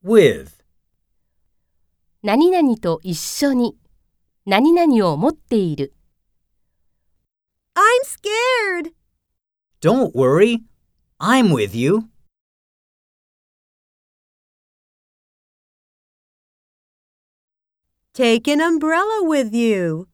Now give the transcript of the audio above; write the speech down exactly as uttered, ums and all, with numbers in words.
with 何々と一緒に何々を持っている。 I'm scared. Don't worry, I'm with you. Take an umbrella with you.